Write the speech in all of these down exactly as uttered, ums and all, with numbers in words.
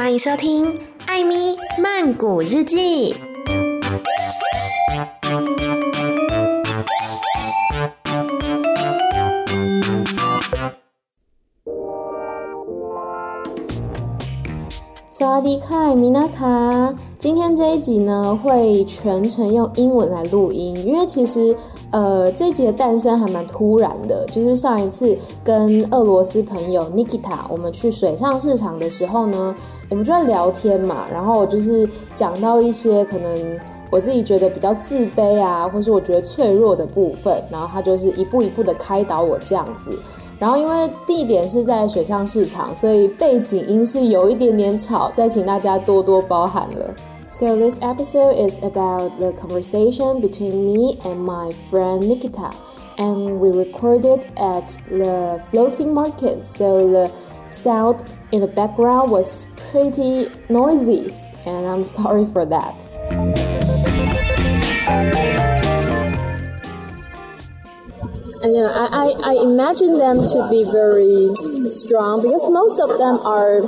歡迎收聽艾咪曼谷日記。 薩瓦迪卡，米娜卡。今天這一集呢，會全程用英文來錄音，因為其實呃這一集的誕生還蠻突然的，就是上一次跟俄羅斯朋友 Nikita 我們去水上市場的時候呢，我們就在聊天嘛，然後就是講到一些可能我自己覺得比較自卑啊，或是我覺得脆弱的部分，然後他就是一步一步的開導我這樣子。然後因為地點是在水上市場，所以背景音是有一點點吵，再請大家多多包涵了。So this episode is about the conversation between me and my friend Nikita, and we recorded at the floating market, so the sound in the background was pretty noisy, and I'm sorry for that. And uh, I, I, I imagine them to be very strong because most of them are,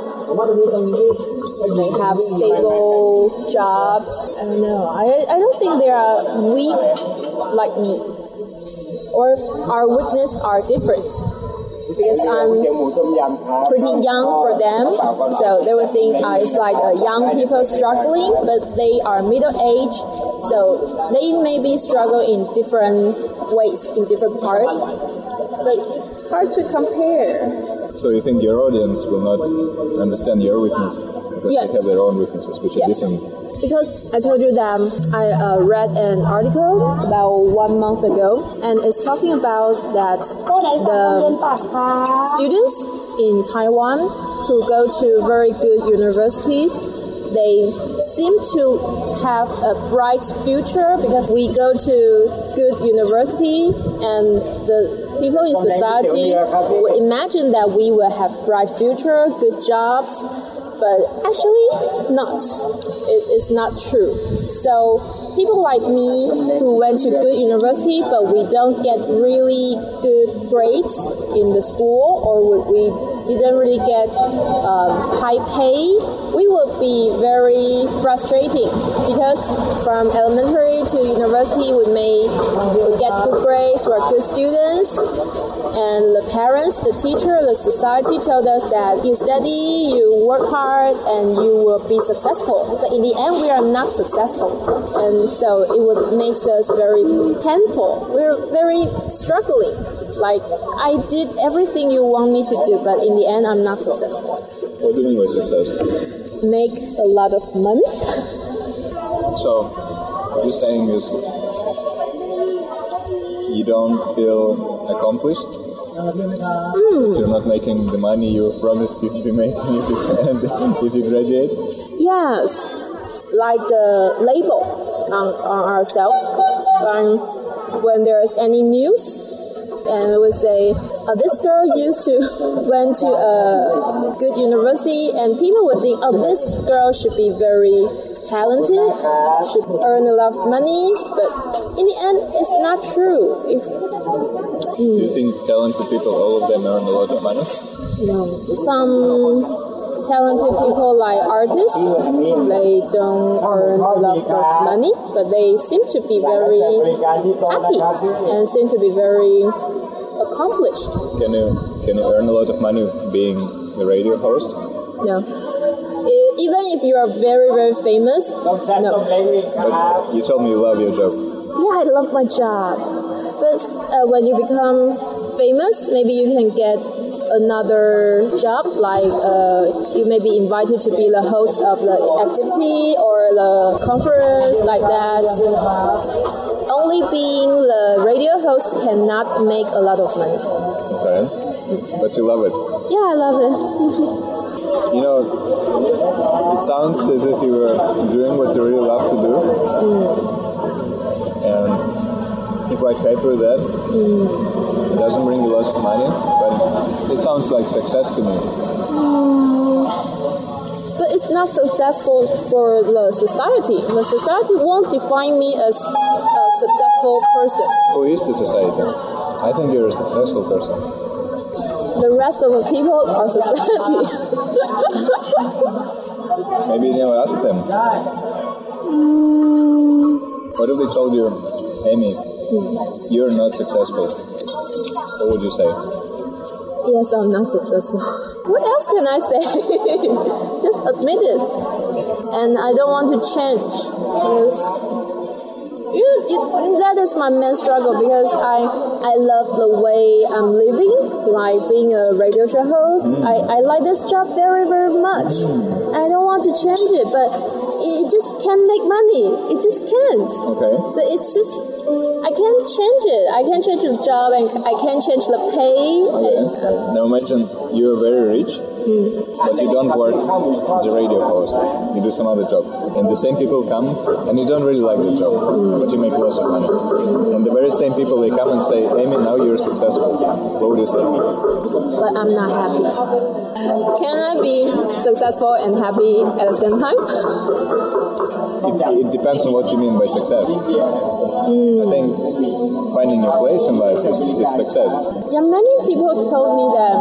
they have stable jobs. I don't know. I, I don't think they are weak like me. Or our weakness are different. Because I'm pretty young for them, so they would think uh, it's like uh, young people struggling, but they are middle-aged, so they maybe struggle in different ways, in different parts, but hard to compare. So you think your audience will not understand your weakness? Because yes. They have their own weaknesses, which yes. are different. Because I told you that I uh, read an article about one month ago, and it's talking about that the students in Taiwan who go to very good universities, they seem to have a bright future because we go to good university, and the people in society would imagine that we will have bright future, good jobs, but actually not. It is not true. So people like me who went to good university, but we don't get really good grades in the school, or we didn't really get um, high pay, we would be very frustrating because from elementary to university we may get good grades, we're good students, and the parents, the teacher, the society told us that you study, you work hard, and you will be successful. But in the end, we are not successful. And so it would make us very painful. We're very struggling. Like, I did everything you want me to do, but in the end, I'm not successful. What do you mean by success? Make a lot of money. So, what you're saying is you don't feel accomplished? Mm. So you're not making the money you promised you'd be making if you, if you graduate? Yes, like the label on, on ourselves. Um, when there is any news, and it would say, oh, this girl used to went to a good university, and people would think, oh, this girl should be very talented, should earn a lot of money, but in the end, it's not true. It's Do you think talented people, all of them earn a lot of money? No. Some talented people like artists, they don't earn a lot of money, but they seem to be very happy and seem to be very accomplished. Can you can you earn a lot of money being a radio host? No. Even if you are very, very famous, no. But you told me you love your job. Yeah, I love my job. But uh, when you become famous, maybe you can get another job, like uh, you may be invited to be the host of the activity or the conference, like that. Only being the radio host cannot make a lot of money. Okay. But you love it. Yeah, I love it. You know, it sounds as if you were doing what you really love to do. Mm. And you're quite happy with that. Mm. It doesn't bring you lots of money, but it sounds like success to me. Mm. But it's not successful for the society. The society won't define me as a successful person. Who is the society? I think you're a successful person. The rest of the people are society. Maybe you know, ask them. Mm. What if they told you, Amy, mm. you're not successful? What would you say? Yes, I'm not successful. What else can I say? Just admit it. And I don't want to change. Because you, you, that is my main struggle, because I, I love the way I'm living, like being a radio show host. Mm. I, I like this job very, very much. Mm. I don't want to change it, but it just can't make money. It just can't. Okay. So it's just, I can't change it. I can't change the job, and I can't change the pay. Okay. Now imagine you're very rich, mm. but you don't work as a radio host. You do some other job. And the same people come, and you don't really like the job, mm. but you make lots of money. And the very same people, they come and say, Amy, now you're successful. What would you say? But I'm not happy. Can I be successful and happy at the same time? It, it depends on what you mean by success. Mm. I think finding your place in life is, is success. Yeah, many people told me that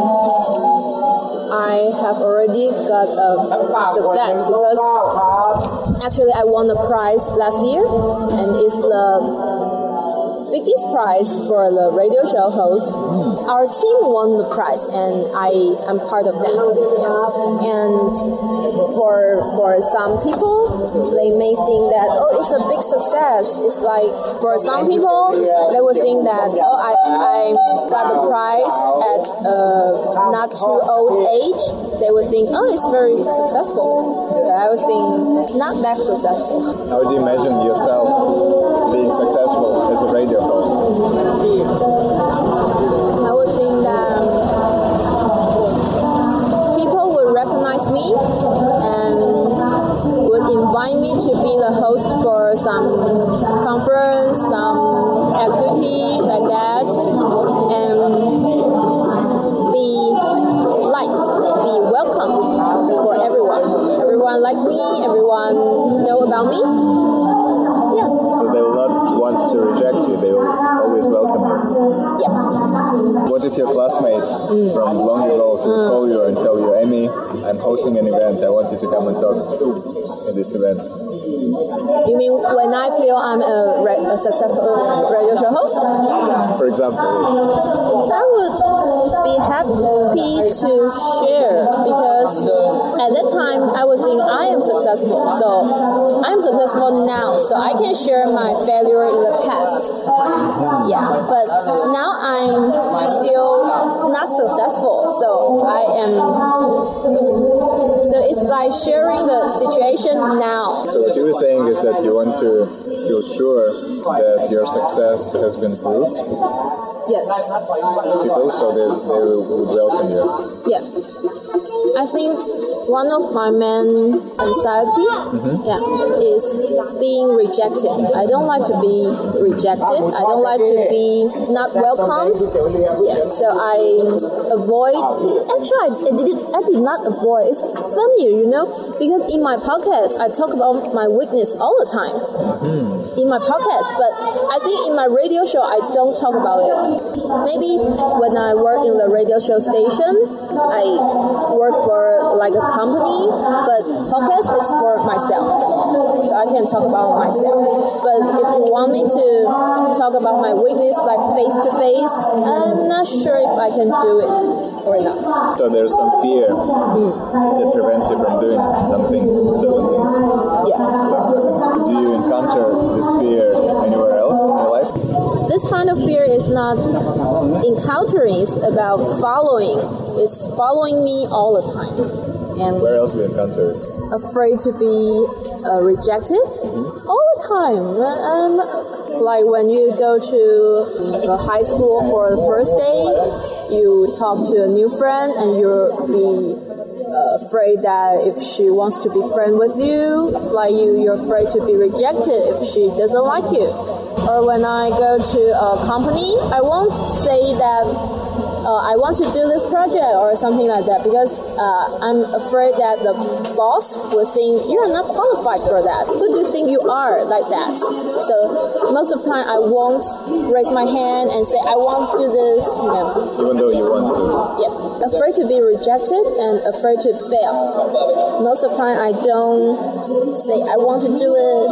I have already got a success, because actually I won a prize last year, and it's the biggest prize for the radio show host. Mm. Our team won the prize, and I am part of that. Yeah. And for for some people, they may think that, oh, it's a big success. It's like, for some people, they would think that, oh, I, I got the prize at a not too old age. They would think, oh, it's very successful. But I would think, not that successful. How do you imagine yourself being successful as a radio host? I would think that people would recognize me and would invite me to be the host for some conference, some activity like that, and be liked, be welcomed for everyone. Everyone like me, everyone know about me. Yeah. So they will not want to reject you, they will always welcome you. Yeah. What if your classmate mm. from long ago would mm. call you and tell you, Amy, I'm hosting an event, I want you to come and talk at this event? You mean when I feel I'm a, re- a successful radio show host? For example, yes. I would be happy to share, because at that time I would think I am successful. So I'm successful now, so I can share my failure in the past. Yeah, but now I'm still not successful, so I am. So it's like sharing the situation now. So what you were saying is that you want to feel sure that your success has been proved. Yes. People, so they, they would welcome you. Yeah. I think one of my main anxiety mm-hmm. yeah, is being rejected. I don't like to be rejected. I don't like to be not welcomed. Yeah. So I avoid. Actually, I, I did. I did not avoid. It's funny, you know, because in my podcast I talk about my weakness all the time. Mm-hmm. In my podcast, but I think in my radio show I don't talk about it. Maybe when I work in the radio show station, I work for like a company, but podcast is for myself, so I can talk about myself. But if you want me to talk about my weakness like face to face, I'm not sure if I can do it or not. So there's some fear mm. that prevents you from doing some things, certain things. Yeah. Do you encounter this fear anywhere else in your life? This kind of fear is not encountering, it's about following. It's following me all the time. And where else do you encounter it? Afraid to be uh, rejected mm-hmm. all the time. Um, like when you go to the high school for the first day, you talk to a new friend and you'll be uh, afraid that if she wants to be friend with you, like you, you're afraid to be rejected if she doesn't like you. Or when I go to a company, I won't say that uh, I want to do this project or something like that, because uh, I'm afraid that the boss will think you're not qualified for that. Who do you think you are like that? So most of the time I won't raise my hand and say I want to do this. You know. Even though you want to. Yeah. afraid to be rejected and afraid to fail. Most of the time, I don't say I want to do it.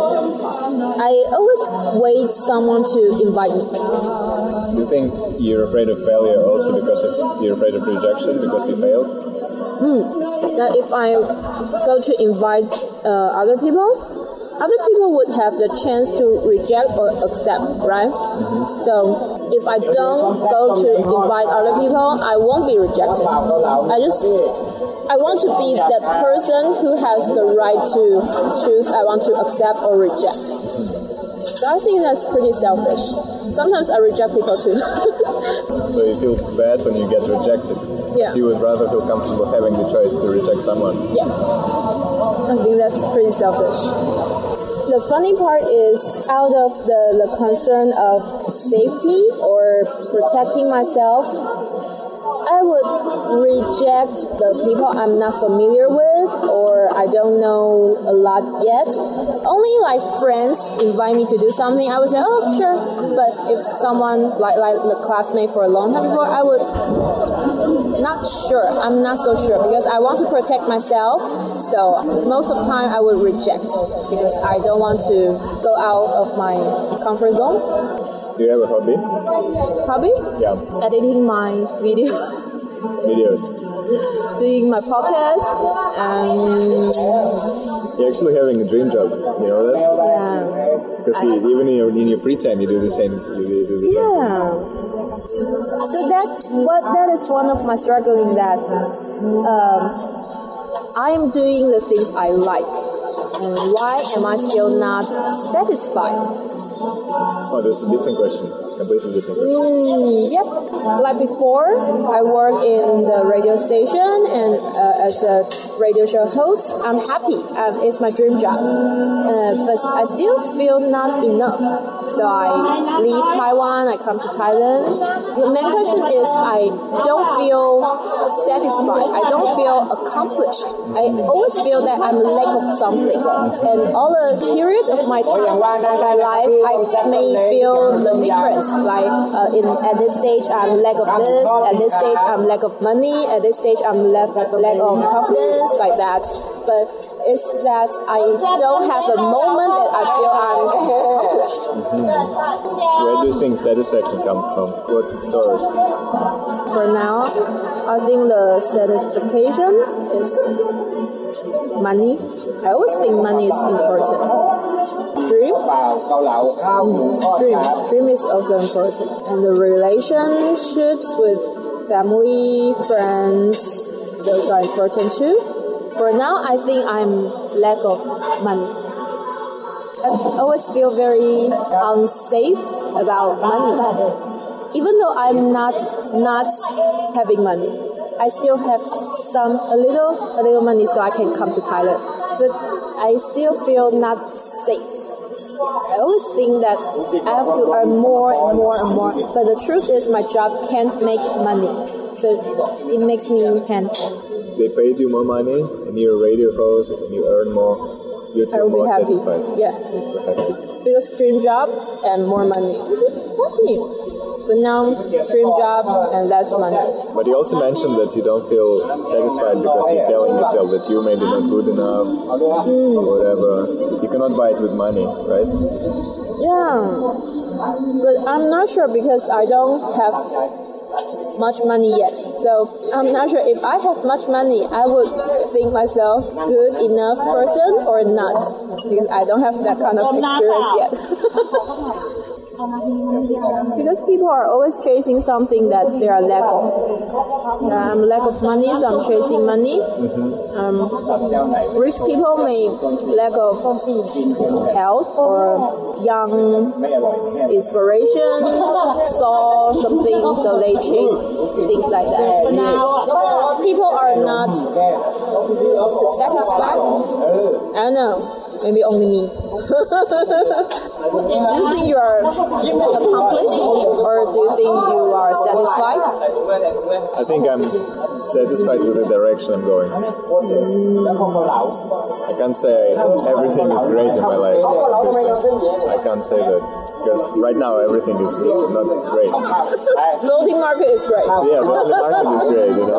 I always wait someone to invite me. Do you think you're afraid of failure also because of you're afraid of rejection because you failed? Mm. That if I go to invite uh, other people, other people would have the chance to reject or accept, right? Mm-hmm. So if I don't go to invite other people, I won't be rejected. I just, I want to be that person who has the right to choose I want to accept or reject. So I think that's pretty selfish. Sometimes I reject people too. So you feel bad when you get rejected? Yeah. You would rather feel comfortable having the choice to reject someone? Yeah. I think that's pretty selfish. The funny part is, out of the, the concern of safety or protecting myself, I would reject the people I'm not familiar with or I don't know a lot yet. Only like friends invite me to do something, I would say, oh, sure. But if someone, like, like the classmate for a long time before, I would, not sure. I'm not so sure because I want to protect myself. So most of the time I would reject because I don't want to go out of my comfort zone. Do you have a hobby? Hobby? Yeah. Editing my video. Videos. Doing my podcast and... You're actually having a dream job, you know that? Yeah. Because you, even in your, in your free time you do the same. You do the same yeah. So that what that is one of my struggling that um, I am doing the things I like. And why am I still not satisfied? Oh, that's a different question. Completely different question. Mm, yep. Like before, I work in the radio station and uh, as a radio show host, I'm happy. Um, it's my dream job. Uh, but I still feel not enough. So I leave Taiwan, I come to Thailand. The main question is I don't feel satisfied. I don't feel accomplished. I always feel that I'm lack of something. And all the period of my time, my life, I may feel the difference. Like uh, in at this stage, I'm lack of this. At this stage, I'm lack of money. At this stage, I'm lack lack of confidence, like that. But it's that I don't have a moment that I feel I'm accomplished. Mm-hmm. Where do you think satisfaction comes from? What's its source? For now, I think the satisfaction is money. I always think money is important. Dream? Mm, dream. Dream is also important. And the relationships with family, friends, those are important too. For now, I think I'm lack of money. I always feel very unsafe about money. Even though I'm not not having money, I still have some a little a little money so I can come to Thailand. But I still feel not safe. I always think that I have to earn more and more and more. But the truth is my job can't make money. So it makes me painful. They paid you more money and you're a radio host and you earn more. You'd feel more happy. satisfied. Yeah. Happy. Because dream job and more money. Happy. But now, dream job and less money. But you also mentioned that you don't feel satisfied because you're telling yourself that you're maybe not good enough mm. or whatever. You cannot buy it with money, right? Yeah. But I'm not sure because I don't have much money yet. So I'm not sure if I have much money, I would think myself good enough person or not. Because I don't have that kind of experience yet. Because people are always chasing something that they are lack of. Yeah, I'm lack of money, so I'm chasing money. Um, rich people may lack of health or young inspiration, saw something, so they chase things like that. But now, people are not satisfied. I don't know. Maybe only me. Do you think you are accomplished or do you think you are satisfied? I think I'm satisfied with the direction I'm going. I can't say everything is great in my life. I can't say that. Because right now everything is not great. Floating market is great. Yeah, floating market is great, you know.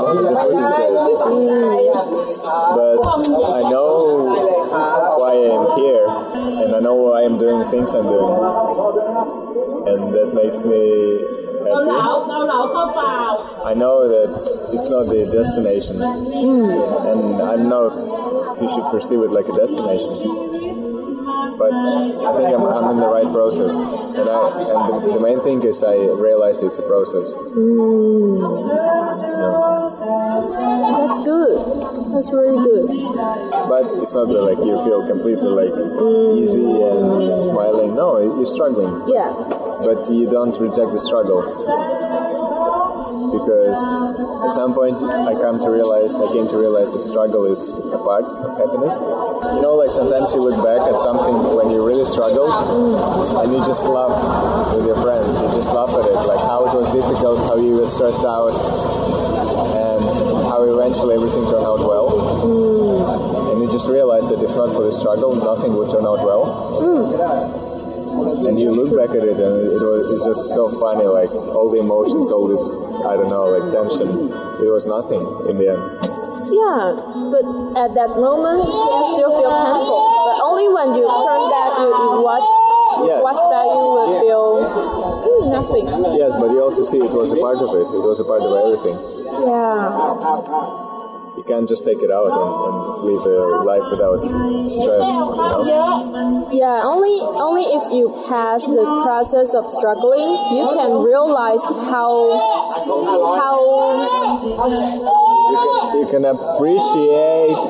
but I know why I am here, and I know why I'm doing the things I'm doing, and that makes me happy. I know that it's not the destination, mm. and I don't know if you should perceive it like a destination. But I think I'm, I'm in the right process, and I and the, the main thing is I realize it's a process. Mm. Yeah. That's good. That's really good. But it's not that, like, you feel completely like mm. easy and smiling. No, you're struggling. Yeah. But you don't reject the struggle, because at some point I come to realize, I came to realize the struggle is a part of happiness. You know, like sometimes you look back at something when you really struggled, mm. and you just laugh with your friends. You just laugh at it, like how it was difficult, how you were stressed out, and how eventually everything turned out well. Mm. And you just realize that if not for the struggle, nothing would turn out well. Mm. And you look back at it, and it was it's just so funny, like all the emotions, all this, I don't know, like tension, it was nothing in the end. Yeah, but at that moment, you still feel painful. But only when you turn back, you, you watch, yes. watch back, you will feel mm, nothing. Yes, but you also see it was a part of it. It was a part of everything. Yeah. You can't just take it out and, and live a life without stress, you know? Yeah, only only if you pass the process of struggling, you can realize how how you can, you can appreciate,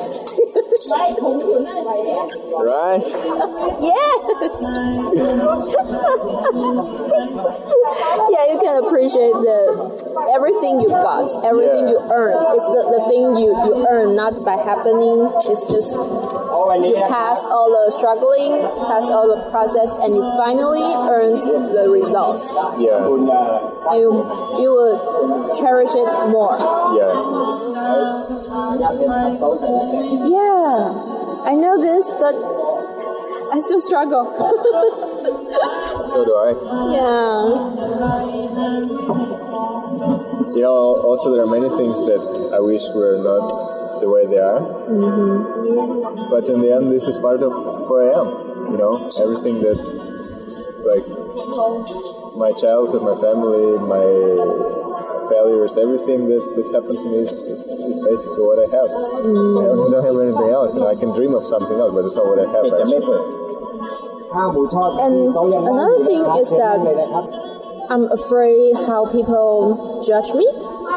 right? Yeah. Yeah, you can appreciate the everything you got, everything yeah. you earn. It's the, the thing you, you earn, not by happening. It's just you passed all the struggling, passed all the process, and you finally earned the results. Yeah. And you, you will cherish it more. Yeah. Yeah. I know this, but I still struggle. So do I. Yeah. You know, also there are many things that I wish were not the way they are. Mm-hmm. But in the end, this is part of who I am. You know, everything that, like, my childhood, my family, my failures, everything that, that happened to me is, is, is basically what I have. Mm. I don't have anything else, and I can dream of something else, but it's not what I have, actually. And another thing is that I'm afraid how people judge me.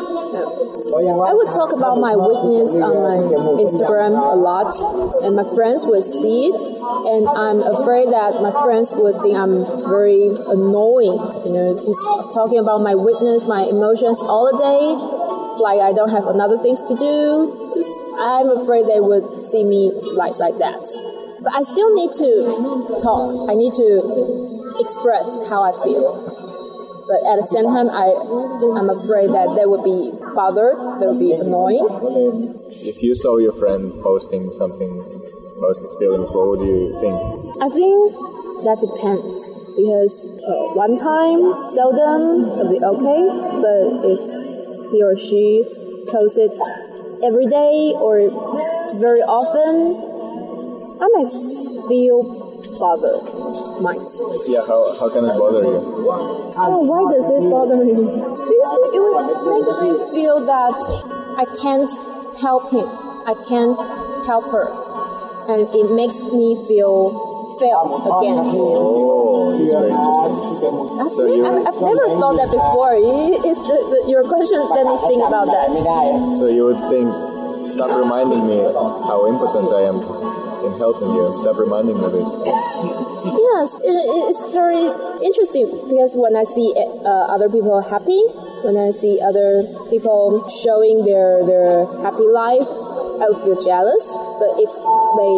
I would talk about my weakness on my Instagram a lot, and my friends would see it, and I'm afraid that my friends would think I'm very annoying, you know, just talking about my weakness, my emotions all the day, like I don't have other things to do. Just I'm afraid they would see me like like that. But I still need to talk. I need to express how I feel. But at the same time, I, I'm afraid that they would be bothered, they would be annoying. If you saw your friend posting something about his feelings, what would you think? I think that depends. Because uh, one time, seldom, it'll be okay. But if he or she posts it every day or very often, I might feel bothered. Might. Yeah, how, how can it bother you? Oh, why does it bother me? Because it would make me feel that I can't help him. I can't help her. And it makes me feel failed again. Oh, it's very interesting. Actually, so you, I've, I've never thought that before. It's the, the, your question let me think about that. So you would think, stop reminding me how impotent I am in helping you. Stop reminding me of this. Yes, it, it's very interesting because when I see uh, other people happy, when I see other people showing their, their happy life, I would feel jealous. But if they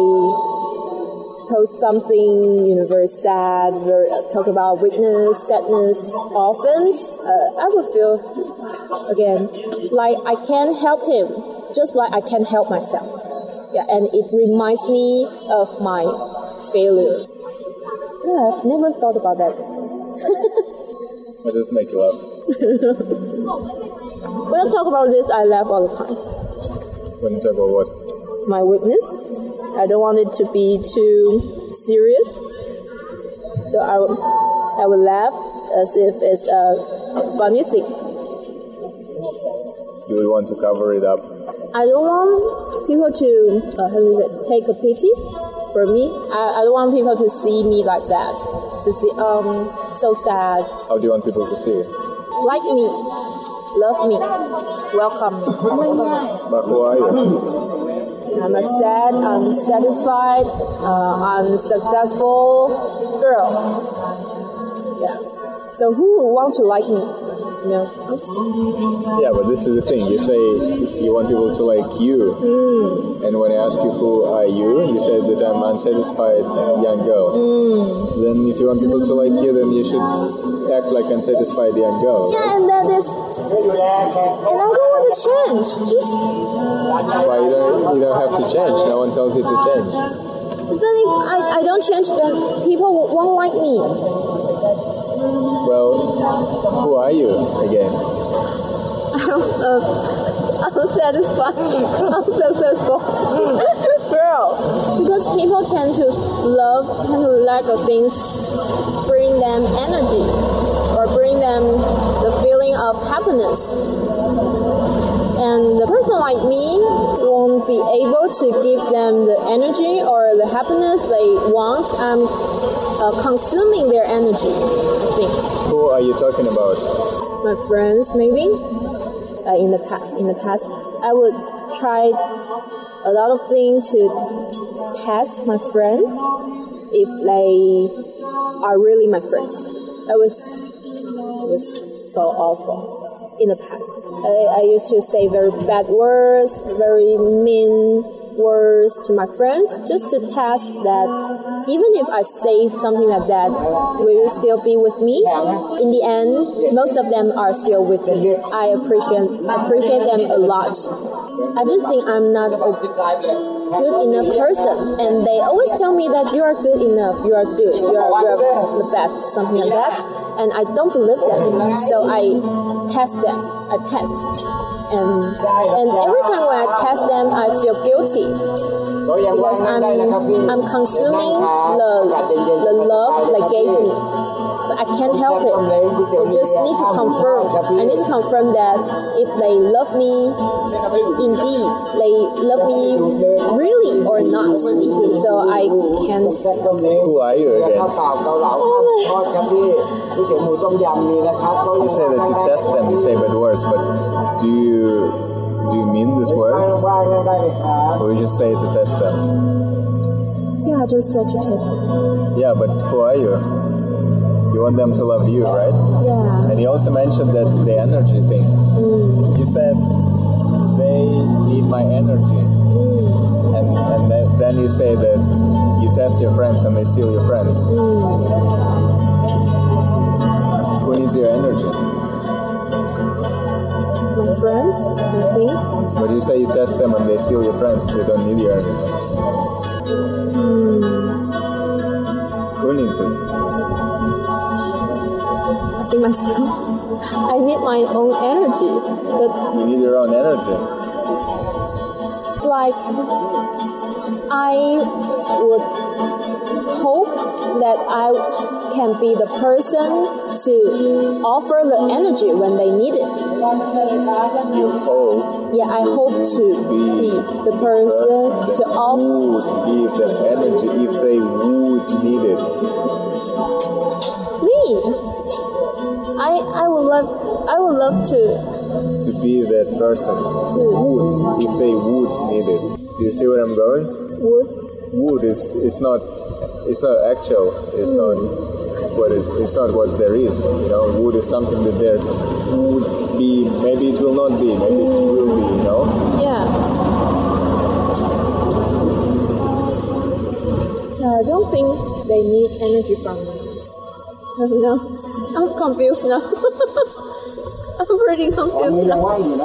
post something, you know, very sad, very talk about weakness, sadness, often, uh, I would feel again like I can't help him, just like I can't help myself. Yeah, and it reminds me of my failure. Yeah, I've never thought about that before. That does make you laugh. When I talk about this, I laugh all the time. When you talk about what? my weakness. I don't want it to be too serious. So I would, I would laugh as if it's a funny thing. You would want to cover it up. I don't want people to uh, how is it, take a pity for me. I, I don't want people to see me like that. To see, um, so sad. How do you want people to see you? Like me, love me, welcome me. But who are you? I'm a sad, unsatisfied, uh, unsuccessful girl. Yeah. So who would want to like me? You know, this. Yeah, but this is the thing. You say you want people to like you, Mm. and when I ask you who are you, you said that I'm unsatisfied young girl. Mm. Then if you want people to like you, then you should act like unsatisfied young girl. Yeah, and that is, and I don't want to change. Just. Why you don't you don't have to change? No one tells you to change. But if I, I don't change, then people won't like me. Well, who are you again? I'm uh, unsatisfied, unsuccessful girl. Because people tend to love, tend to lack of things, bring them energy or bring them the feeling of happiness. And the person like me won't be able to give them the energy or the happiness they want. I'm uh, consuming their energy, I think. Who are you talking about? My friends, maybe. Uh, in the past, in the past, I would try a lot of things to test my friend if they are really my friends. That was it was so awful. In the past, I, I used to say very bad words, very mean words to my friends, just to test that even if I say something like that, will you still be with me? In the end, most of them are still with me. I appreciate appreciate them a lot. I just think I'm not a good enough person, and they always tell me that you are good enough, you are good, you are, you are the best, something like that, and I don't believe them, so I test them, I test, and and every time when I test them, I feel guilty, because I'm, I'm consuming the, the love they gave me, but I can't help it. I just need to confirm, I need to confirm that if they love me, indeed, they love me really or not, so I can't. Who are you again? You say that you test them, you say bad words, but do you do you mean these words? Or you just say it to test them? Yeah, I just said to test them. Yeah, but who are you? You want them to love you, right? Yeah. And you also mentioned that the energy thing. Mm. You said they need my energy. Mm. And, and then, then you say that you test your friends and they steal your friends. Mm. Who needs your energy? My friends, I think. But you say you test them and they steal your friends. They don't need your energy. Mm. Who needs it? I think myself. I need my own energy. But You need your own energy. like, I would hope that I can be the person to offer the energy when they need it. You hope Yeah, I hope to be the person to offer. who would give them energy if they would need it. Me. I I would love I would love to To be that person to would if they would need it. Do you see where I'm going? would Would is it's not it's not actual. It's not what it, it's not what there is. You know, would is something that there would be. Maybe it will not be. Maybe it will be. You know. yeah. No, I don't think they need energy from me. No, I'm confused now. I'm pretty confused now.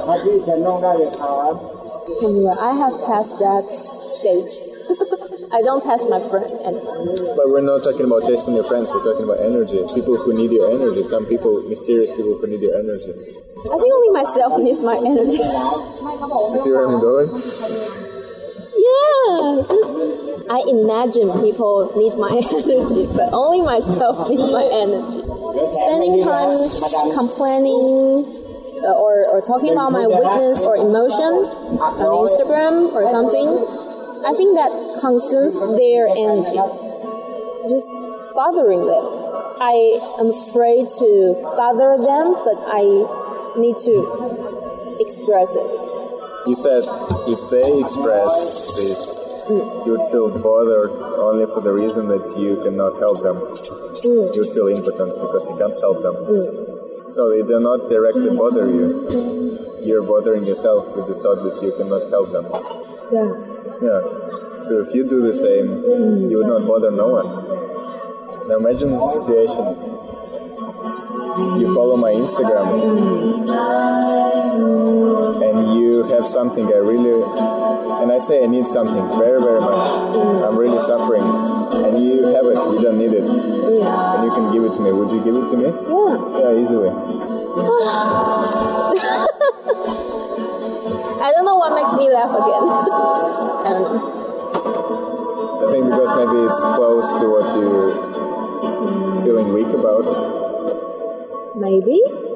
Anyway, I have passed that stage. I don't test my friend anymore. But we're not talking about testing your friends. We're talking about energy. People who need your energy. Some people, mysterious people who need your energy. I think only myself needs my energy. You see where I'm going? Yeah, Yeah, just, I imagine people need my energy, but only myself need my energy. Spending time complaining uh, or, or talking about my weakness or emotion on Instagram or something, I think that consumes their energy. Just bothering them. I am afraid to bother them, but I need to express it. You said if they express this, mm. you would feel bothered only for the reason that you cannot help them. Mm. You would feel impotent because you can't help them. Mm. So they do not directly bother you. You're bothering yourself with the thought that you cannot help them. Yeah. Yeah. So if you do the same, mm. you would not bother no one. Now imagine the situation. You follow my Instagram and you have something I really, and I say I need something very, very much. I'm really suffering. And you have it, you don't need it. Yeah. And you can give it to me. Would you give it to me? Yeah. Yeah, easily. I don't know what makes me laugh again. I don't know. I think because maybe it's close to what you're feeling weak about. Maybe.